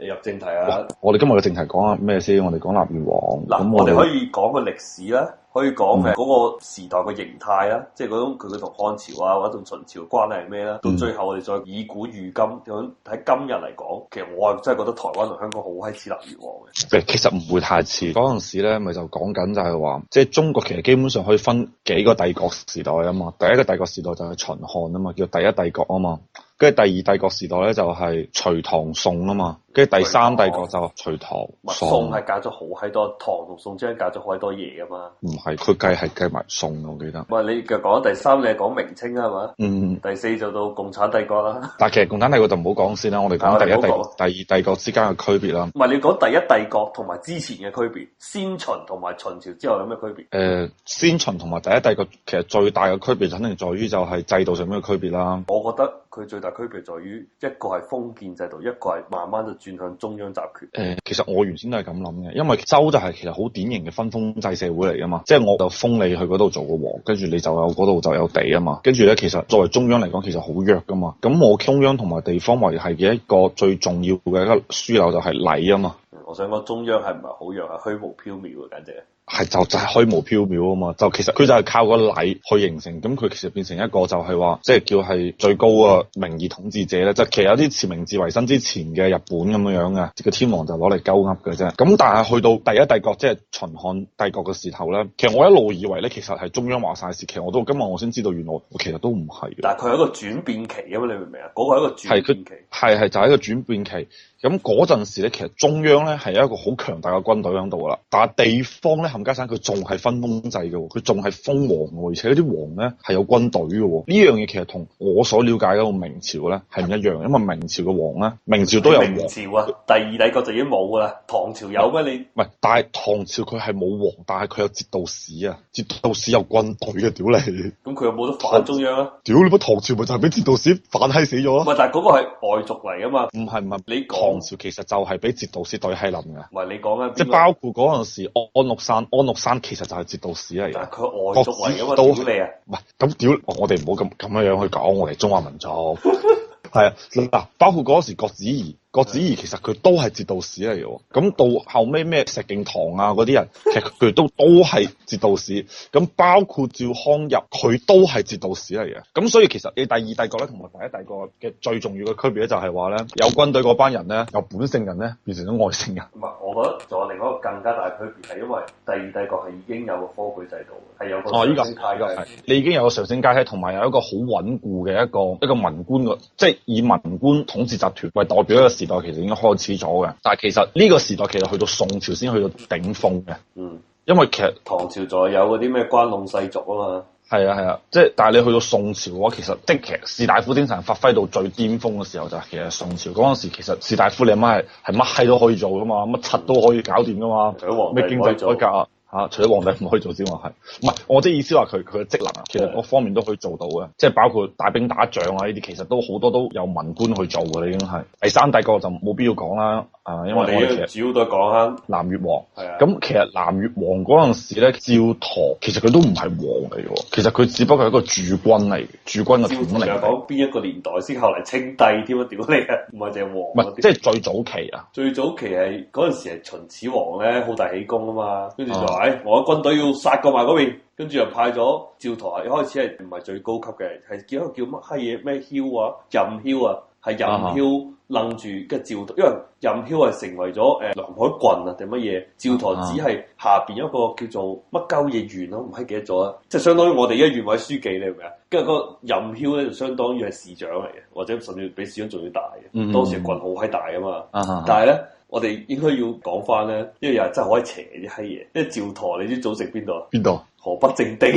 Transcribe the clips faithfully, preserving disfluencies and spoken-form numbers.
入正題啊！ 我哋今日嘅正題講下咩先？我哋講南越王。 嗱，我哋可以講個歷史啦，可以講誒嗰個時代嘅形態啦，嗯、即係嗰種佢佢同漢朝啊或者同秦朝關係係咩啦？到、嗯、最後我哋再以古喻今，咁喺今日嚟講，其實我係真係覺得台灣同香港好閪似南越王嘅。 其實唔會太似。嗰陣時咧，咪就講緊就係話，即係中國其實基本上可以分幾個帝國時代啊嘛。第一個帝國時代就係秦漢啊嘛，叫第一帝國啊嘛。跟住第二帝國時代咧就係隋唐宋啊嘛，跟住第三帝國就隋唐宋。 宋係隔咗好閪多，唐同宋之間隔咗好閪多嘢噶嘛。 唔係，佢計係計埋宋，我記得。 唔係你嘅講第三，你係講明清啊嘛？ 嗯。 第四就到共產帝國啦。 但係其實共產帝國就唔好講先啦，我哋講第一帝國、第二帝國之間嘅區別啦。 唔係你講第一帝國同埋之前嘅區別，先秦同埋秦朝之後有咩區別？誒、 呃，先秦同埋第一帝國其實最大嘅區別，肯定在於就係制度上面嘅區別啦。 我覺得佢最大區別在於一個係封建制度，一個係慢慢就轉向中央集權。 誒、呃，其實我原先都係咁諗嘅，因為周就係其實好典型嘅分封制社會嚟噶嘛，即係我就封你去嗰度做個王，跟住你就有嗰度就有地啊嘛，跟住咧其實作為中央嚟講，其實好弱噶嘛。咁我中央同埋地方維繫嘅一個最重要嘅一個樞紐就係禮啊嘛。 我想講中央係唔係好弱，係虛無縹緲啊，簡直係就就係虛無縹緲啊嘛，就其實佢就係靠個禮去形成，咁佢其實變成一個就係話，即係叫係最高嘅名義統治者咧，即係其實有啲似明治維新之前嘅日本咁樣樣嘅，即個天皇就攞嚟鳩噏嘅啫。咁但係去到第一帝國即係秦漢帝國嘅時候咧，其實我一路以為咧，其實係中央話晒事，其實我到今日我先知道，原來我其實都唔係。 但係佢係一個轉變期啊嘛，你明唔明啊？嗰個係一個轉變期， 係係就係一個轉變期。咁嗰陣時咧，其實中央咧係一個好強大嘅軍隊喺度噶啦，但係地方咧冚家鏟佢仲係分封制嘅，佢仲係封王嘅，而且嗰啲王咧係有軍隊嘅。呢樣嘢其實同我所了解嗰個明朝咧係唔一樣，因為明朝嘅王咧，明朝都有王。 明朝啊，第二帝國就已經冇噶啦，唐朝有咩？你唔係，但係唐朝佢係冇王，但係佢有節度使啊，節度使有軍隊嘅，屌你！ 咁佢有冇得反中央啊？ 屌你乜唐朝咪就係俾節度使反閪死咗咯？ 唔係，但係嗰個係外族嚟噶嘛？唔係唔係， 你唐朝其實就係俾節度使對閪冧嘅。 唔係你講啊， 即係包括嗰陣時安祿山，安祿山其實就係節度使嚟嘅。 但係佢外族嚟噶嘛？ 都屌你啊！ 唔係咁屌，我哋唔好咁咁樣樣去講我哋中華民族。係啊，嗱，包括嗰時郭子儀。郭子儀其實佢都係節度使嚟嘅，咁到後尾咩石敬瑭啊嗰啲人，其實佢都都係節度使，咁包括趙匡胤佢都係節度使嚟嘅，咁所以其實你第二帝國咧同埋第一帝國嘅最重要嘅區別咧就係話咧，有軍隊嗰班人咧由本姓人咧變成咗外姓人。 唔係，我覺得仲有另外一個更加大區別係因為第二帝國係已經有個科舉制度，係有個上升階級， 你已經有個上升階級，同埋有一個好穩固嘅一個一個文官嘅，即係以文官統治集團為代表一個時代，其實已經開始咗嘅。但係其實呢個時代其實去到宋朝先去到頂峰嘅。嗯，因為其實唐朝仲有嗰啲咩關隴世俗啊嘛。 係啊係啊，即係但係你去到宋朝嘅話，其實即係其實士大夫精神發揮到最巔峰嘅時候就係其實宋朝嗰陣時，其實士大夫你阿媽係係乜閪都可以做噶嘛，乜柒都可以搞掂噶嘛，咩經濟改革啊。嚇！除咗皇帝唔可以做之外，係唔係？我即係意思話佢佢嘅職能啊，其實各方面都可以做到嘅，即係包括帶兵打仗啊呢啲，其實都好多都有文官去做嘅啦，已經係。第三帝國就冇必要講啦，啊，因為我哋其實主要都係講下南越王。 係啊。 咁其實南越王嗰陣時咧，趙佗其實佢都唔係王嚟嘅，其實佢只不過係一個駐軍嚟，駐軍嘅統領。 又講邊一個年代先後嚟稱帝添啊？屌你啊！唔係淨係王。 唔係，即係最早期啊！ 最早期係嗰陣時係秦始皇咧，好大喜功啊嘛，跟住就話誒，我軍隊要殺過埋嗰邊，跟住又派咗趙佗，一開始係唔係最高級嘅，係叫一個叫乜閪嘢咩囂啊，任囂啊，係任囂楞住嘅趙佗，因為任囂係成為咗誒南海郡啊定乜嘢，趙佗只係下邊一個叫做乜鳩嘢縣咯，唔係記得咗啊，即係相當於我哋一縣委書記你明唔明啊？跟住個任囂咧就相當於係市長嚟嘅，或者甚至比市長仲要大嘅，嗯、當時郡好閪大啊嘛，嗯、但係咧。我哋應該要講翻咧，因為又係真係好閪邪啲閪嘢。因為趙佗，你知祖籍邊度啊？邊度？河北正定。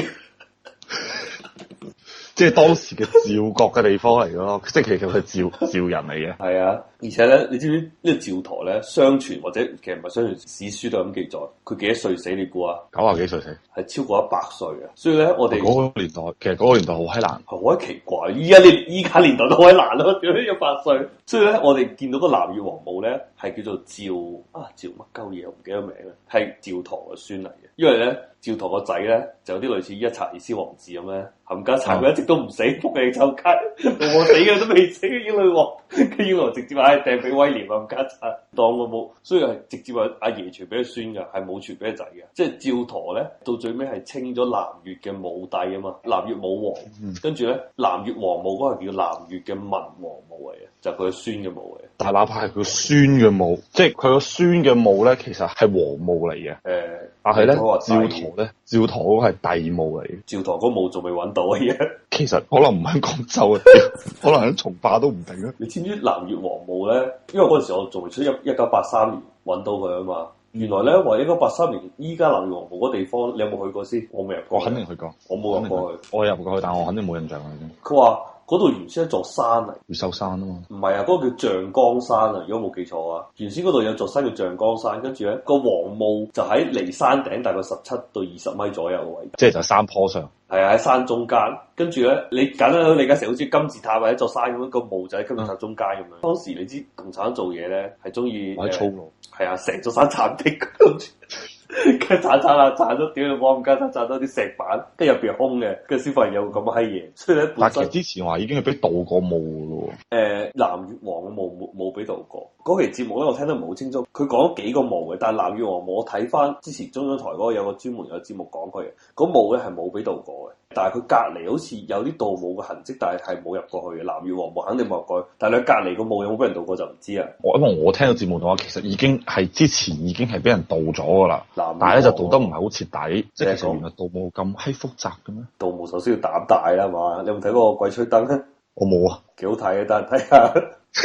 即係當時嘅趙國嘅地方嚟咯，即係其實佢係趙趙人嚟嘅。 係啊，而且咧，你知唔知呢個趙佗咧？相傳或者其實唔係相傳，史書都咁記載，佢幾多歲死？你估啊？ 九啊幾歲死？ 係超過一百歲啊！所以咧，我哋嗰個年代，其實嗰個年代好閪難， 好閪奇怪。依家年依家年代都好閪難咯，點解一百歲？所以咧，我哋見到個南越王墓咧，係叫做趙啊趙乜鳩嘢，我唔記得名啦，係趙佗嘅孫嚟嘅。因為咧，趙佗個仔咧就有啲類似一查爾斯王子咁咧，冚家鏟佢一直都唔死，仆你臭街，我死嘅都未死嘅英女王，佢英女王直接話： 掟俾威廉啊，咁家產當我冇，所以係直接話阿爺傳俾佢孫嘅，係冇傳俾佢仔嘅。即係趙佗咧，到最尾係稱咗南越嘅武帝啊嘛，南越武王。嗯、跟住咧，南越王墓嗰個叫南越嘅文王墓嚟嘅，就係佢嘅孫嘅墓嚟嘅。 但係哪怕係佢孫嘅墓，即係佢個孫嘅墓咧，其實係王墓嚟嘅。誒、呃，但係咧，趙佗咧，趙佗嗰個係帝墓嚟嘅。趙佗嗰墓仲未揾到啊！而家其實可能唔喺廣州啊，可能喺從化都唔定啊。 你知唔知南越王墓咧？因為嗰陣時我仲未出一一九八三年揾到佢啊嘛。原來咧話一九八三年，依家南越王墓嗰地方，你有冇去過先？我未入過。 我肯定去過。 我冇入過去。 我入過去，但我肯定冇印象啦已經。 佢話嗰度原先係一座山嚟， 越秀山啊嘛。 唔係啊，嗰、嗰個叫象崗山啊，如果冇記錯啊。原先嗰度有座山叫象崗山，跟住咧個王墓就喺離山頂大概十七到二十米左右嘅位置。 即係就山坡上。係啊，喺山中間。跟住咧，你簡單理解成好似金字塔或者一座山咁樣，個墓就喺金字塔中間咁樣。嗯、當時你知共產黨做嘢咧係中意喺粗魯。 係啊，成座山鏟的，跟住跟住鏟鏟下鏟咗，屌你冇咁加鏟鏟多啲石板，跟住入邊係空嘅，跟住先發現有咁嘅閪嘢。所以咧， 但其實之前話已經係俾盜過墓嘅咯。誒、 呃，南越王嘅墓冇冇俾盜過。嗰期節目咧，我聽得唔係好清楚。佢講咗幾個墓嘅，但係南越王墓我睇翻之前中央台嗰個有個專門有個節目講佢嘅，嗰墓咧係冇俾盜過嘅。但係佢隔離好似有啲盜墓嘅痕跡，但係係冇入過去嘅。南越王墓肯定冇入過去，但係佢隔離個墓有冇俾人盜過就唔知啊。 我因為我聽到節目嘅話，其實已經係之前已經係俾人盜咗㗎啦。但係咧就盜得唔係好徹底，即係其實原來盜墓咁閪複雜嘅咩？ 盜墓首先要膽大啦，係嘛？你有冇睇過《鬼吹燈》咧？ 我冇啊， 幾好睇嘅，但係睇下。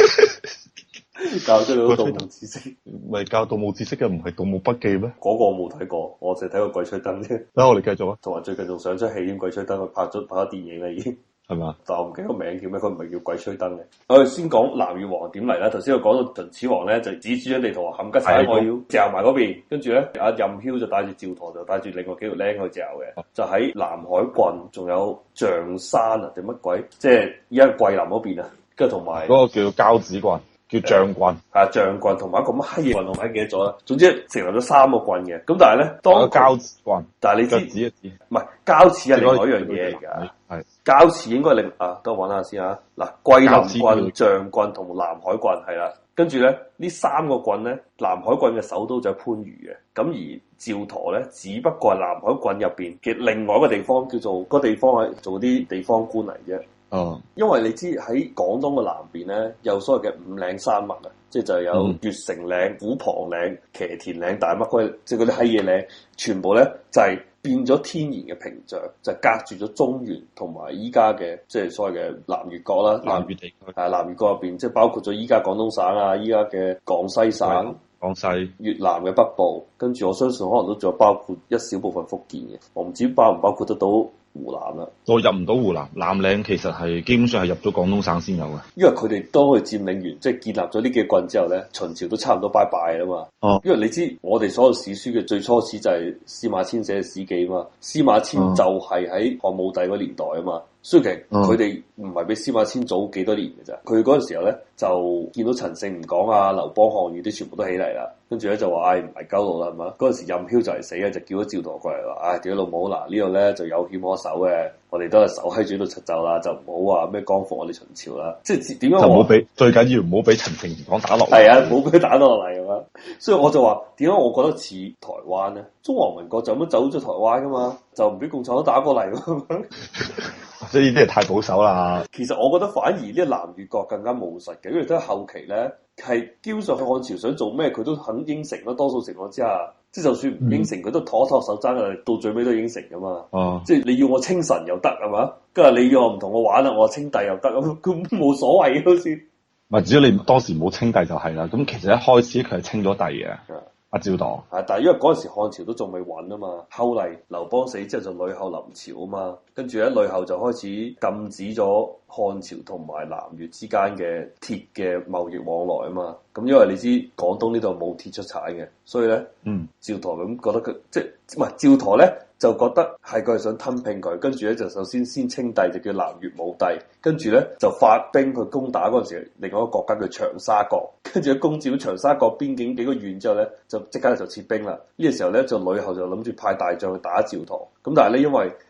教咗你盜墓知識， 咪教盜墓知識嘅唔係盜墓筆記咩？ 嗰個我冇睇過，我淨係睇過鬼吹燈啫。 咁我哋繼續啊。 同埋最近仲上出戲院鬼吹燈，佢拍咗拍咗電影啦已經， 係嘛？ 但我唔記得個名叫咩，佢唔係叫鬼吹燈嘅。我哋先講南越王點嚟啦。頭先我講到秦始皇咧，就指住張地圖話冚家鏟，我要嚼埋嗰邊。跟住咧，阿任囂就帶住趙佗，就帶住另外幾條僆去嚼嘅，就喺南海郡，仲有象山啊定乜鬼？即係依家桂林嗰邊啊，跟住同埋嗰個叫交趾郡。叫將郡，係啊將郡同埋一個乜閪嘢郡，我唔記得咗啦。總之成立咗三個郡嘅。咁但係咧，當交趾郡，但係你知指一指，唔係交趾係另外一樣嘢嚟㗎。係交趾應該另啊，等我揾下先啊。嗱，桂林郡、將郡同南海郡係啦。跟住咧，呢三個郡咧，南海郡嘅首都就係番禺嘅。咁而趙佗咧，只不過係南海郡入邊嘅另外一個地方，叫做個地方係做啲地方官嚟啫。 哦， 因為你知喺廣東嘅南邊咧，有所謂嘅五嶺山脈啊，即係就有月城嶺、虎龐嶺、騎田嶺、大乜鬼，即係嗰啲閪嘢嶺，全部咧就係、是、變咗天然嘅屏障，就隔住咗中原同埋依家嘅即係所謂嘅南越國啦。 南越地區係南越國入邊，即係包括咗依家廣東省啊，依家嘅廣西省、 廣西、 越南嘅北部，跟住我相信可能都仲有包括一小部分福建嘅，我唔知包唔包括得到湖南啦。 我入唔到湖南，南嶺其實係基本上係入咗廣東省先有嘅。 因為佢哋當佢佔領完，即係建立咗呢幾個郡之後咧，秦朝都差唔多拜拜啦嘛。哦，因為你知我哋所有史書嘅最初始就係司馬遷寫嘅史記啊嘛，司馬遷就係喺漢武帝嗰年代啊嘛。所以其實佢哋唔係比司馬遷早幾多年嘅咋，佢嗰陣時候咧就見到陳勝吳廣啊、劉邦項羽啲全部都起嚟啦，跟住咧就話唉唔係鳩路啦係嘛，嗰陣時任囂就嚟死嘅，就叫咗趙佗過嚟話唉屌老母嗱呢度咧就有險可守嘅，我哋都係守喺住度出走啦，就唔好話咩光復我哋秦朝啦，即係點樣就唔好俾最緊要唔好俾陳勝吳廣打落嚟， 係啊，唔好俾佢打落嚟咁樣，所以我就話點解我覺得似台灣咧？中華民國就咁樣走咗台灣噶嘛，就唔俾共產黨打過嚟咁樣。 所以呢啲係太保守啦。 其實我覺得反而呢個南越國更加務實嘅，因為都係後期咧係基本上漢朝想做咩佢都肯應承啦，多數情況之下，即係就算唔應承佢、嗯、都拖拖手踭啊，到最尾都應承噶嘛。哦、啊，即係你要我稱臣又得係嘛，跟住你要我唔同我玩啦，我稱帝又得咁，咁冇所謂好似。 唔係，只要你當時冇稱帝就係啦。咁其實一開始佢係稱咗帝嘅。阿趙佗， 係，但係因為嗰陣時漢朝都仲未穩啊嘛，後嚟劉邦死之後就呂後臨朝啊嘛，跟住咧呂後就開始禁止咗漢朝同埋南越之間嘅鐵嘅貿易往來啊嘛，咁因為你知廣東呢度冇鐵出產嘅，所以咧，嗯，趙佗咁覺得佢即係唔係趙佗咧就覺得係佢係想吞併佢，跟住咧就首先先稱帝就叫南越武帝，跟住咧就發兵去攻打嗰陣時另外一個國家叫長沙國，跟住咧攻佔咗長沙國邊境幾個縣之後咧就即刻就撤兵啦。呢、這個時候咧就呂後就諗住派大將去打趙佗，咁但係咧因為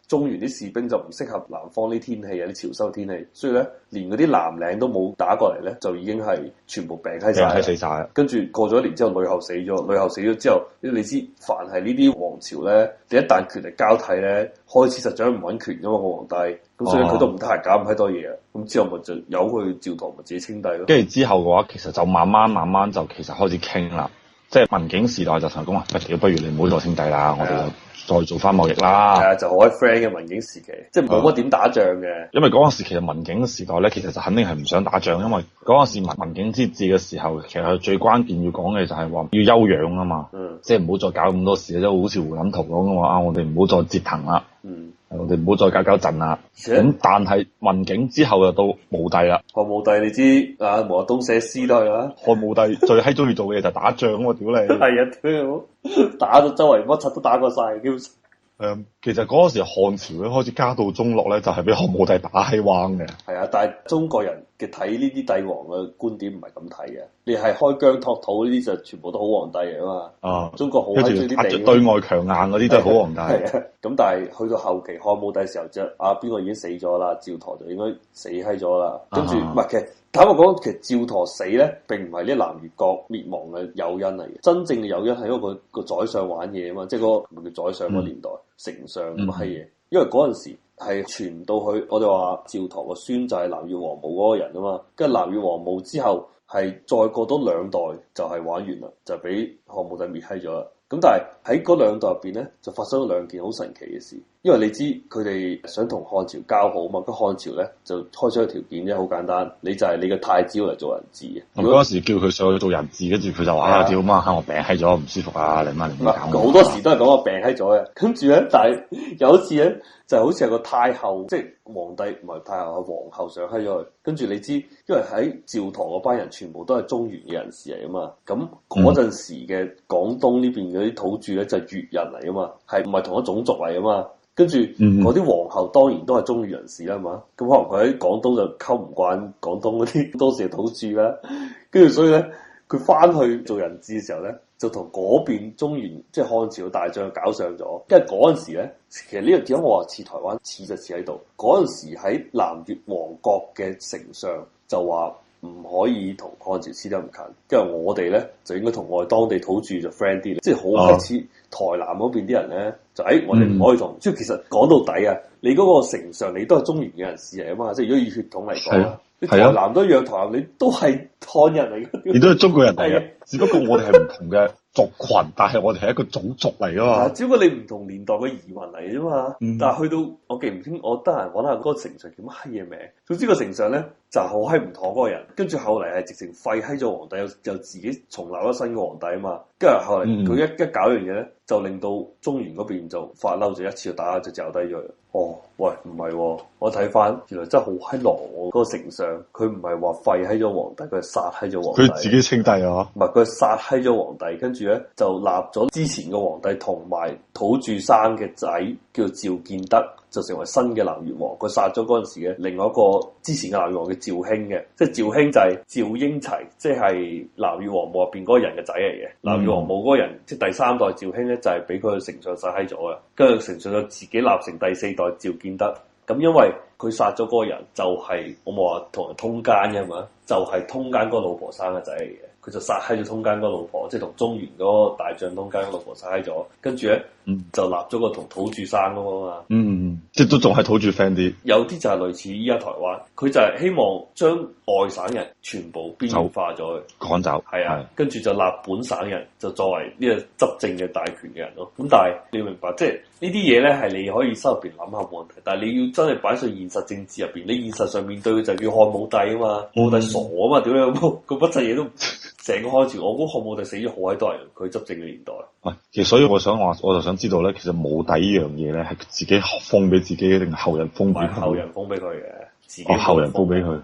中原啲士兵就唔適合南方啲天氣啊，啲潮濕嘅天氣，所以咧連嗰啲藍領都冇打過嚟咧，就已經係全部病閪晒， 死晒。 跟住過咗一年之後，呂后死咗，呂后死咗之後，你知凡係呢啲王朝咧，你一旦權力交替咧，開始實在唔穩權噶嘛個皇帝，咁所以佢都唔得閒搞咁閪多嘢啊，咁之後咪就由佢趙佗咪自己稱帝咯。 跟住之後嘅話，其實就慢慢慢慢就其實開始傾啦，即係文景時代就成功話，喂，不如你唔好再稱帝啦，我哋再做翻貿易啦。 係啊，就好閪 friend 嘅文景時期，即係冇乜點打仗嘅。 因為嗰陣時其實文景時代咧，其實就肯定係唔想打仗，因為嗰陣時文文景之治嘅時候，其實佢最關鍵要講嘅就係話要休養啊嘛，嗯、即係唔好再搞咁多事，即係好似胡錦濤講嘅話啊，我哋唔好再折騰啦。嗯我哋唔好再搞搞震啦，咁但係文景之後就到武帝啦。漢武帝你知啊，毛澤東寫詩都係啦。漢武帝最閪中意做嘅嘢就打仗啊嘛，屌你！係啊，屌你！打到周圍乜柒都打過晒，基本上。誒，其實嗰陣時漢朝咧開始家道中落咧，就係俾漢武帝打閪彎嘅。係啊，但係中國人嘅睇呢啲帝王嘅觀點唔係咁睇嘅。你係開疆拓土呢啲就全部都好皇帝嚟啊嘛。啊，中國好閪中意啲地。對外強硬嗰啲都係好皇帝。係啊，咁但係去到後期漢武帝時候就啊邊個已經死咗啦，趙佗就應該死閪咗啦。跟住唔係其實坦白講，其實趙佗死咧並唔係呢南越國滅亡嘅誘因嚟嘅，真正嘅誘因係因為個個宰相玩嘢啊嘛，即係嗰個叫宰相嗰年代。嗯丞相咁閪嘢，因為嗰陣時係傳到去，我哋話趙佗個孫就係南越王母嗰個人啊嘛，跟住南越王母之後係再過多兩代就係玩完啦，就俾漢武帝滅閪咗啦。咁但係喺嗰兩代入邊咧，就發生咗兩件好神奇嘅事。因為你知佢哋想同漢朝交好嘛，咁漢朝咧就開出個條件啫，好簡單，你就係你嘅太子嚟做人質嘅。咁嗰時叫佢上去做人質，跟住佢就話啊，屌媽，我病閪咗，唔舒服啊，你媽你唔好搞我。好多時都係講我病閪咗嘅，跟住咧，但係有一次咧，就好似係個太后，即係皇帝唔係太后，係皇后上閪咗佢。跟住你知，因為喺趙佗嗰班人全部都係中原嘅人士嚟啊嘛，咁嗰陣時嘅廣東呢邊嗰啲土著咧就係越人嚟啊嘛，係唔係同一種族嚟啊嘛？跟住嗰啲皇后當然都係中原人士啦嘛，咁可能佢喺廣東就溝唔慣廣東嗰啲當時嘅土著啦，跟住所以咧佢翻去做人質嘅時候咧，就同嗰邊中原即係漢朝嘅大將搞上咗，因為嗰陣時咧，其實呢個點解我話似台灣似就似喺度，嗰陣時喺南越王國嘅丞相就話唔可以同漢朝黐得咁近，因為我哋咧就應該同我哋當地土著就 friend 啲，即係好似台南嗰邊啲人咧就誒、哎、我哋唔可以同，即係、嗯、其實講到底啊，你嗰個丞相你都係中原嘅人士嚟啊嘛，即係如果以血統嚟講啊，你台南都一樣，台南你都係漢人嚟嘅，你都係中國人嚟嘅，只不過我哋係唔同嘅族群，但係我哋係一個種族嚟噶嘛，只不過你唔同年代嘅移民嚟啫嘛，嗯、但係去到我記唔清，我得閒揾下嗰個丞相叫乜閪嘢名，總之個丞相咧就好閪唔妥嗰個人，跟住後嚟係直情廢閪咗皇帝，又又自己重立咗新嘅皇帝啊嘛，跟住後嚟佢一、嗯、一搞樣嘢咧，就令到中原嗰邊就發嬲，就一次就打就嚼低咗佢。哦，喂，唔係、哦，我睇翻原來真係好閪狼喎，嗰個丞相佢唔係話廢閪咗皇帝，佢係殺閪咗皇帝。佢自己稱帝啊？唔係，佢係殺閪咗皇帝，跟住咧就立咗之前嘅皇帝同埋土著生嘅仔叫趙建德，就成為新嘅南越王。佢殺咗嗰陣時嘅另外一個之前嘅南越王叫趙興嘅，即係趙興就係趙英齊，即係南越王墓入邊嗰個人嘅仔嚟嘅。嗯、南越王墓嗰個人即係第三代趙興咧，就係俾佢丞相殺閪咗嘅，跟住丞相就自己立成第四代趙建德。咁因為佢殺咗嗰個人，就係、是、我冇話同人通奸嘅嘛，就係、是、通奸嗰個老婆生嘅仔嚟嘅。佢就殺閪咗通奸嗰個老婆，即係同中原嗰個大將通奸嗰個老婆殺閪咗，跟住咧、嗯、就立咗個同土著生嗰個嘛。嗯，即係都仲係土著 friend 啲。有啲就係類似依家台灣，佢就係希望將外省人全部邊緣化咗去趕走。係啊，跟住就立本省人就作為呢個執政嘅大權嘅人咯。咁但係你要明白，即係呢啲嘢咧係你可以心入邊諗下冇問題，但係你要真係擺上現實政治入邊，你現實上面對嘅就叫漢武帝啊嘛，漢武帝傻啊嘛，點樣個乜柒嘢都。成個漢朝，我估漢武帝死咗好閪多人，佢執政嘅年代。喂，其實所以我想話，我就想知道咧，其實武帝呢樣嘢咧，係自己封俾自己定係後人封俾佢？後人封俾佢嘅，自己、哦、後人封俾佢。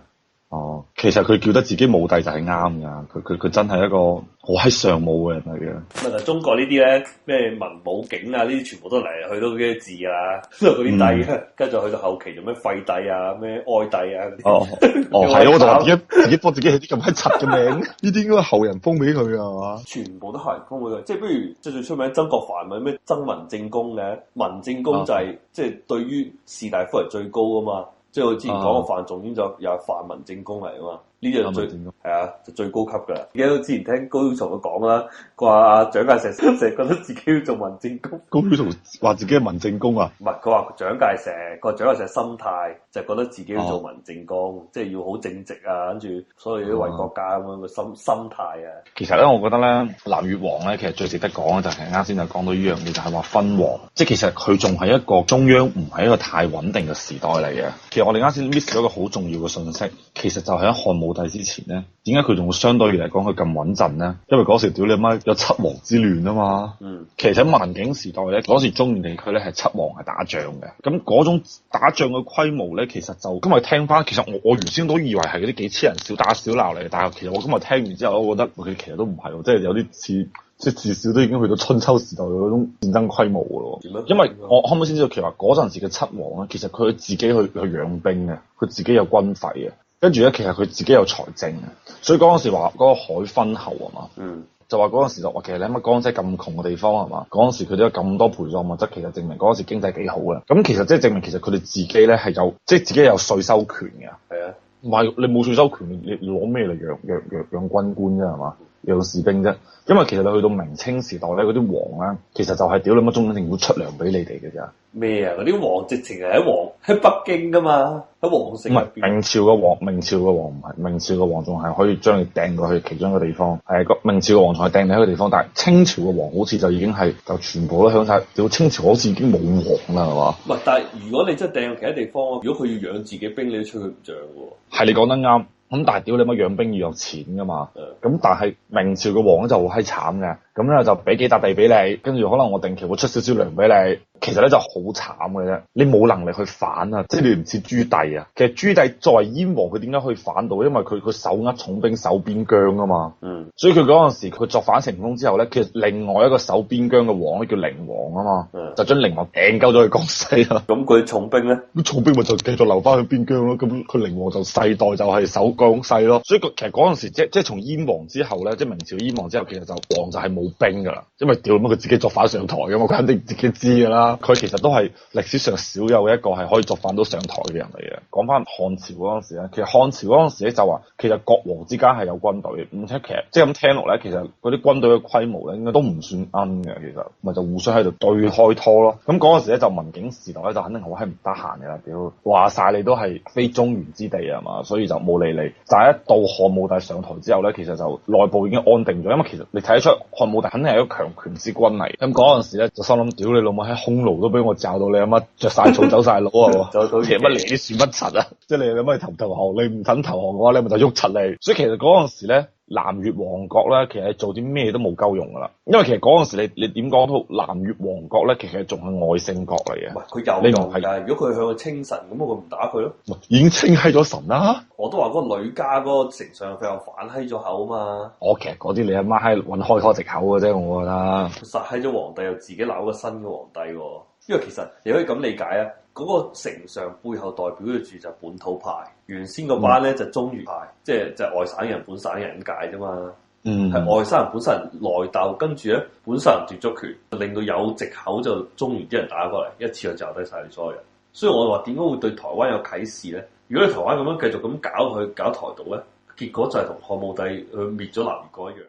哦，其實佢叫得自己武帝就係啱噶，佢佢佢真係一個好閪尚武嘅人嚟嘅。 咁啊，中國呢啲咧咩文武景啊，呢啲全部都嚟嚟去都嗰啲字啊，都係嗰啲帝啊，跟住、嗯、去到後期做咩廢帝啊，咩哀帝啊。 哦哦，係我就話點解自己幫自己起啲咁閪柒嘅名？呢啲應該係後人封俾佢啊嘛。 全部都後人封俾佢，即係不如即係最出名曾國藩咪咩曾文正公嘅，文正公就係、是啊、即係對於士大夫係最高噶嘛。即係我之前講個范仲淹就又係范文正公嚟啊嘛，呢樣最係啊就最高級噶啦。而家都之前聽高曉松佢講啦，佢話阿蔣介石成日覺得自己要做文正公。 高曉松話自己係文正公啊？ 唔係，佢話蔣介石，佢話蔣介石心態就係覺得自己要做文正公，啊、即係要好正直啊，跟住所有啲為國家咁樣嘅心心態啊。 其實咧，我覺得咧，南越王咧，其實最值得講嘅就係啱先就講到呢樣嘢，就係話分王，即係其實佢仲係一個中央唔係一個太穩定嘅時代嚟嘅。其實我哋啱先 miss 咗一個好重要嘅信息，其實就係喺漢武帝之前咧，點解佢仲會相對嚟講佢咁穩陣咧？因為嗰時屌你媽有七王之亂啊嘛。嗯。其實喺萬景時代咧，嗰時中原地區咧係七王係打仗嘅，咁嗰種打仗嘅規模咧，其實就今日聽翻，其實我我原先都以為係嗰啲幾千人小打小鬧嚟嘅，但係其實我今日聽完之後，我覺得佢其實都唔係喎，即係有啲似。即係至少都已經去到春秋時代嗰種戰爭規模嘅咯。樣因為我後尾先知道，其實話嗰陣時嘅七王咧，其實佢自己去去養兵嘅，佢自己有軍費嘅，跟住咧其實佢自己有財政嘅，所以嗰陣時話嗰個海昏侯啊嘛，嗯，就話嗰陣時就話其實你諗下江西咁窮嘅地方係嘛，嗰陣時佢都有咁多陪葬物質，其實證明嗰陣時經濟幾好嘅。咁其實即係證明其實佢哋自己咧係有即係自己有稅收權嘅。係啊，唔係你冇稅收權，你你攞咩嚟養養養養軍官啫係嘛？養士兵啫，因為其實你去到明清時代咧，嗰啲王咧，其實就係屌你乜中央政府出糧俾你哋嘅咋。咩啊？嗰啲王直情係喺王喺北京噶嘛，喺皇城入邊。唔係明朝嘅王，明朝嘅王唔係，明朝嘅王仲係可以將你掟過去其中一個地方。係個明朝嘅王仲係掟你喺個地方，但係清朝嘅王好似就已經係就全部都響晒。屌清朝好似已經冇王啦，係嘛？唔係，但係如果你真係掟去其他地方，如果佢要養自己兵，你都吹佢唔漲嘅。係你講得啱。咁但係屌你乜養兵要有錢噶嘛？咁、嗯、但係明朝嘅王咧就好閪慘嘅，咁咧就俾幾笪地俾你，跟住可能我定期會出少少糧俾你，其實咧就好慘嘅啫。你冇能力去反啊，即係你唔似朱棣啊。其實朱棣作為燕王，佢點解可以反到？因為佢佢手握重兵守邊疆啊嘛。嗯。所以佢嗰陣時佢作反成功之後咧，其實另外一個守邊疆嘅王咧叫寧王啊嘛，嗯、就將寧王掟鳩咗去江西啦。咁佢重兵咧？咁重兵咪就繼續留翻去邊疆咯。咁佢寧王就世代就係守江西咯。所以其實嗰陣時即即係從燕王之後咧，即係明朝燕王之後，其實就王就係冇兵噶啦，因為屌乜佢自己作反上台噶嘛，佢肯定自己知噶啦。佢其實都係歷史上少有一個係可以作反到上台嘅人嚟嘅。講翻漢朝嗰陣時咧，其實漢朝嗰陣時咧就話，其實國王之間係有軍隊，而且其實即係咁聽落咧，其實嗰啲軍隊嘅規模咧應該都唔算奀嘅，其實咪就互相喺度對開拖咯。咁嗰陣時咧就文景時代咧就肯定好閪唔得閒嘅啦，屌話晒你都係非中原之地啊嘛，所以就冇理你。但係一到漢武帝上台之後咧，其實就內部已經安定咗，因為其實你睇得出漢武帝肯定係一個強權之君嚟。咁嗰陣時咧就心諗，屌你老母喺匈奴都俾我罩到你阿媽着晒草走晒佬啊！走到乜嚟啲算乜柒啊？即係你有乜投投降？你唔肯投降嘅話，你咪就喐柒你。所以其實嗰陣時咧，南越王國咧，其實做啲咩都冇鳩用噶啦。因為其實嗰陣時你你點講都南越王國咧，其實仲係外姓國嚟嘅。唔係佢有用係，如果佢向佢稱臣，咁我咪唔打佢咯。已經稱閪咗神啦。我都話嗰個女家嗰個丞相佢又反閪咗口啊嘛。我其實嗰啲你阿媽閪揾開拖藉口嘅啫，我覺得。佢殺閪咗皇帝又自己鬧個新嘅皇帝喎。因為其實你可以咁理解啊，嗰、那個丞相背後代表住就本土派，原先嗰班咧就中原派，即係就係外省人本省人咁解啫嘛。嗯，係外省人本省人內鬥，跟住咧本省人奪咗權，令到有藉口就中原啲人打過嚟，一次就就低晒所有人。所以我話點解會對台灣有啟示咧？如果你台灣咁樣繼續咁搞佢搞台獨咧，結果就係同漢武帝去滅咗南越嗰一樣。